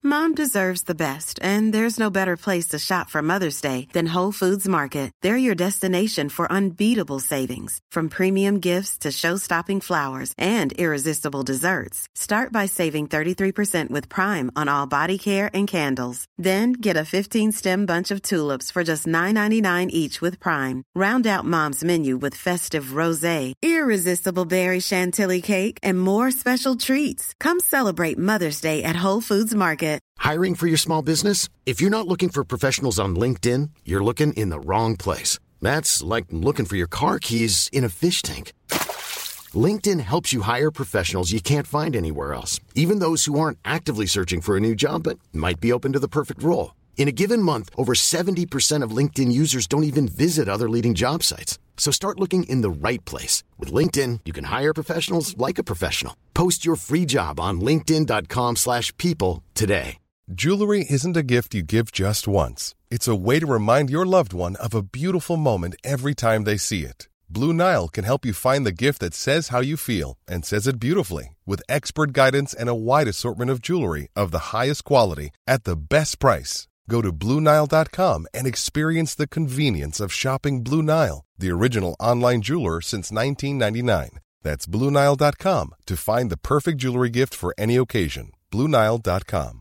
Mom deserves the best, and there's no better place to shop for Mother's Day than Whole Foods Market. They're your destination for unbeatable savings, from premium gifts to show-stopping flowers and irresistible desserts. Start by saving 33% with Prime on all body care and candles. Then get a 15-stem bunch of tulips for just $9.99 each with Prime. Round out Mom's menu with festive rosé, irresistible berry chantilly cake, and more special treats. Come celebrate Mother's Day at Whole Foods Market. Hiring for your small business? If you're not looking for professionals on LinkedIn, you're looking in the wrong place. That's like looking for your car keys in a fish tank. LinkedIn helps you hire professionals you can't find anywhere else, even those who aren't actively searching for a new job but might be open to the perfect role. In a given month, over 70% of LinkedIn users don't even visit other leading job sites. So start looking in the right place. With LinkedIn, you can hire professionals like a professional. Post your free job on linkedin.com/people today. Jewelry isn't a gift you give just once. It's a way to remind your loved one of a beautiful moment every time they see it. Blue Nile can help you find the gift that says how you feel and says it beautifully, with expert guidance and a wide assortment of jewelry of the highest quality at the best price. Go to BlueNile.com and experience the convenience of shopping Blue Nile, the original online jeweler since 1999. That's BlueNile.com to find the perfect jewelry gift for any occasion. BlueNile.com.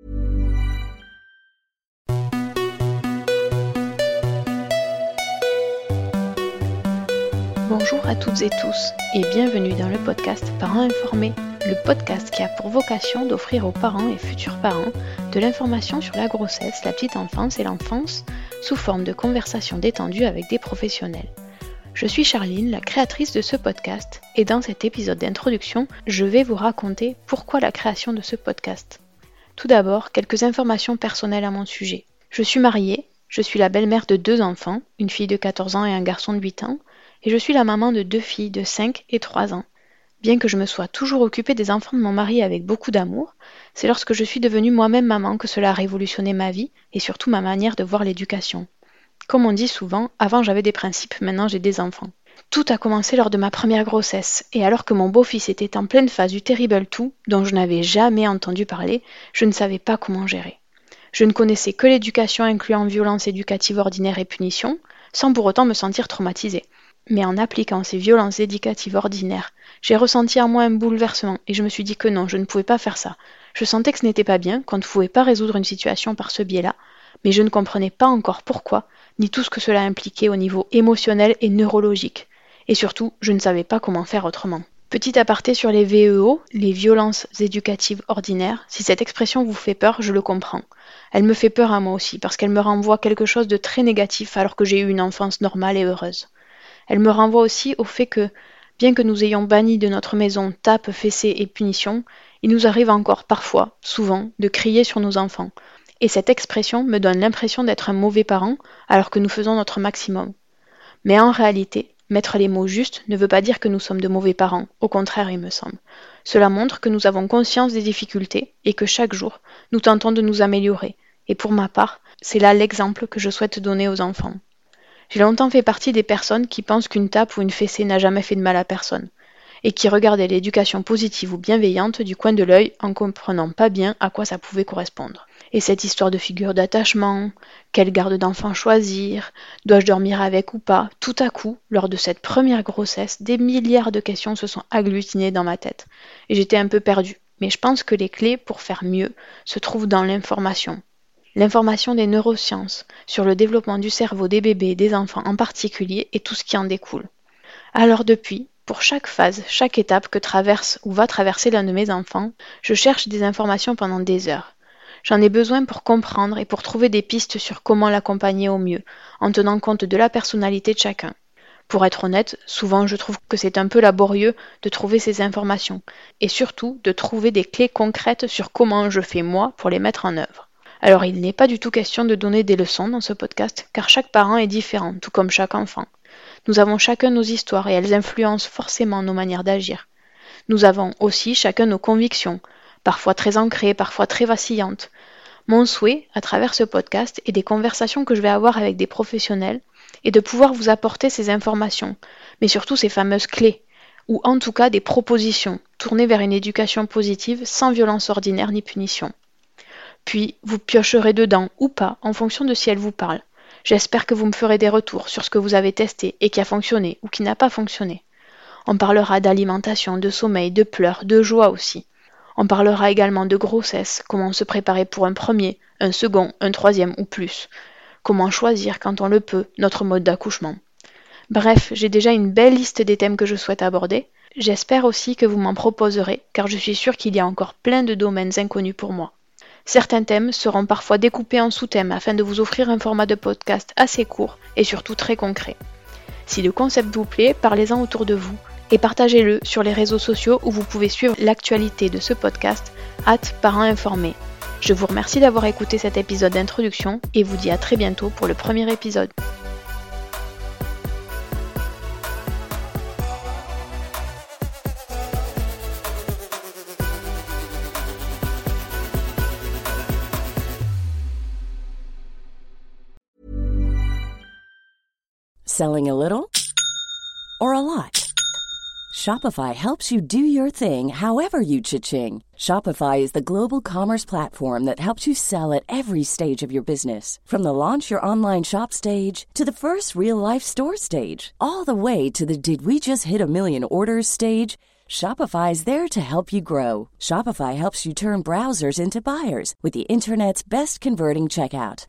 Bonjour à toutes et tous et bienvenue dans le podcast Parents Informés, le podcast qui a pour vocation d'offrir aux parents et futurs parents de l'information sur la grossesse, la petite enfance et l'enfance sous forme de conversations détendues avec des professionnels. Je suis Charline, la créatrice de ce podcast, et dans cet épisode d'introduction, je vais vous raconter pourquoi la création de ce podcast. Tout d'abord, quelques informations personnelles à mon sujet. Je suis mariée, je suis la belle-mère de 2 enfants, une fille de 14 ans et un garçon de 8 ans, et je suis la maman de 2 filles de 5 et 3 ans. Bien que je me sois toujours occupée des enfants de mon mari avec beaucoup d'amour, c'est lorsque je suis devenue moi-même maman que cela a révolutionné ma vie et surtout ma manière de voir l'éducation. Comme on dit souvent, avant j'avais des principes, maintenant j'ai des enfants. Tout a commencé lors de ma première grossesse, et alors que mon beau-fils était en pleine phase du Terrible 2, dont je n'avais jamais entendu parler, je ne savais pas comment gérer. Je ne connaissais que l'éducation incluant violence éducative ordinaire et punition, sans pour autant me sentir traumatisée. Mais en appliquant ces violences éducatives ordinaires, j'ai ressenti en moi un bouleversement et je me suis dit que non, je ne pouvais pas faire ça. Je sentais que ce n'était pas bien, qu'on ne pouvait pas résoudre une situation par ce biais-là, mais je ne comprenais pas encore pourquoi, ni tout ce que cela impliquait au niveau émotionnel et neurologique. Et surtout, je ne savais pas comment faire autrement. Petit aparté sur les VEO, les violences éducatives ordinaires, si cette expression vous fait peur, je le comprends. Elle me fait peur à moi aussi, parce qu'elle me renvoie quelque chose de très négatif alors que j'ai eu une enfance normale et heureuse. Elle me renvoie aussi au fait que, bien que nous ayons banni de notre maison tapes, fessées et punitions, il nous arrive encore parfois, souvent, de crier sur nos enfants. Et cette expression me donne l'impression d'être un mauvais parent alors que nous faisons notre maximum. Mais en réalité, mettre les mots justes ne veut pas dire que nous sommes de mauvais parents, au contraire il me semble. Cela montre que nous avons conscience des difficultés et que chaque jour, nous tentons de nous améliorer. Et pour ma part, c'est là l'exemple que je souhaite donner aux enfants. J'ai longtemps fait partie des personnes qui pensent qu'une tape ou une fessée n'a jamais fait de mal à personne, et qui regardaient l'éducation positive ou bienveillante du coin de l'œil en comprenant pas bien à quoi ça pouvait correspondre. Et cette histoire de figure d'attachement, quelle garde d'enfant choisir, dois-je dormir avec ou pas, tout à coup, lors de cette première grossesse, des milliards de questions se sont agglutinées dans ma tête, et j'étais un peu perdue. Mais je pense que les clés pour faire mieux se trouvent dans l'information. L'information des neurosciences sur le développement du cerveau des bébés et des enfants en particulier et tout ce qui en découle. Alors depuis, pour chaque phase, chaque étape que traverse ou va traverser l'un de mes enfants, je cherche des informations pendant des heures. J'en ai besoin pour comprendre et pour trouver des pistes sur comment l'accompagner au mieux, en tenant compte de la personnalité de chacun. Pour être honnête, souvent je trouve que c'est un peu laborieux de trouver ces informations, et surtout de trouver des clés concrètes sur comment je fais moi pour les mettre en œuvre. Alors il n'est pas du tout question de donner des leçons dans ce podcast, car chaque parent est différent, tout comme chaque enfant. Nous avons chacun nos histoires et elles influencent forcément nos manières d'agir. Nous avons aussi chacun nos convictions, parfois très ancrées, parfois très vacillantes. Mon souhait, à travers ce podcast et des conversations que je vais avoir avec des professionnels, est de pouvoir vous apporter ces informations, mais surtout ces fameuses clés, ou en tout cas des propositions, tournées vers une éducation positive sans violence ordinaire ni punition. Puis, vous piocherez dedans ou pas en fonction de si elle vous parle. J'espère que vous me ferez des retours sur ce que vous avez testé et qui a fonctionné ou qui n'a pas fonctionné. On parlera d'alimentation, de sommeil, de pleurs, de joie aussi. On parlera également de grossesse, comment se préparer pour un premier, un second, un troisième ou plus. Comment choisir, quand on le peut, notre mode d'accouchement. Bref, j'ai déjà une belle liste des thèmes que je souhaite aborder. J'espère aussi que vous m'en proposerez, car je suis sûre qu'il y a encore plein de domaines inconnus pour moi. Certains thèmes seront parfois découpés en sous-thèmes afin de vous offrir un format de podcast assez court et surtout très concret. Si le concept vous plaît, parlez-en autour de vous et partagez-le sur les réseaux sociaux où vous pouvez suivre l'actualité de ce podcast @parents informés. Je vous remercie d'avoir écouté cet épisode d'introduction et vous dis à très bientôt pour le premier épisode. Selling a little or a lot? Shopify helps you do your thing however you cha-ching. Shopify is the global commerce platform that helps you sell at every stage of your business. From the launch your online shop stage to the first real-life store stage, all the way to the did we just hit a million orders stage. Shopify is there to help you grow. Shopify helps you turn browsers into buyers with the internet's best converting checkout.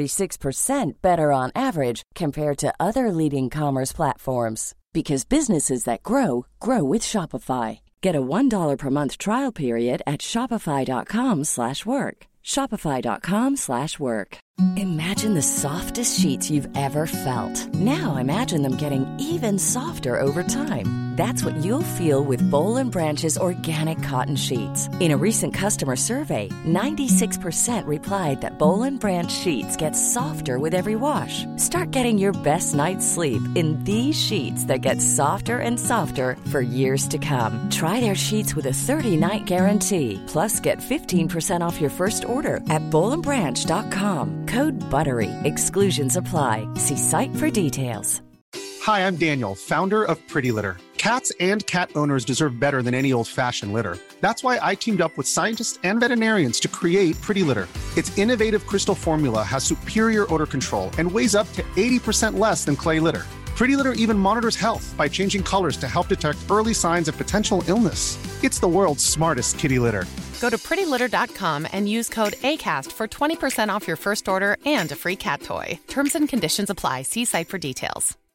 36% better on average compared to other leading commerce platforms. Because businesses that grow, grow with Shopify. Get a $1 per month trial period at shopify.com/work. Shopify.com/work. Imagine the softest sheets you've ever felt. Now imagine them getting even softer over time. That's what you'll feel with Boll & Branch's organic cotton sheets. In a recent customer survey, 96% replied that Boll & Branch sheets get softer with every wash. Start getting your best night's sleep in these sheets that get softer and softer for years to come. Try their sheets with a 30-night guarantee. Plus, get 15% off your first order at BollandBranch.com. Code BUTTERY. Exclusions apply. See site for details. Hi, I'm Daniel, founder of Pretty Litter. Cats and cat owners deserve better than any old-fashioned litter. That's why I teamed up with scientists and veterinarians to create Pretty Litter. Its innovative crystal formula has superior odor control and weighs up to 80% less than clay litter. Pretty Litter even monitors health by changing colors to help detect early signs of potential illness. It's the world's smartest kitty litter. Go to prettylitter.com and use code ACAST for 20% off your first order and a free cat toy. Terms and conditions apply. See site for details.